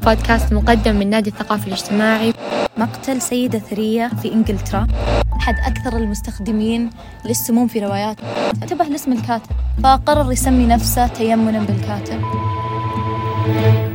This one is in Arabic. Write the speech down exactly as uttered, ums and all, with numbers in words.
بودكاست مقدم من نادي الثقافي الاجتماعي. مقتل سيدة ثرية في إنجلترا، أحد أكثر المستخدمين للسموم في روايات، انتبه لاسم الكاتب، فقرر يسمي نفسه تيمنا بالكاتب.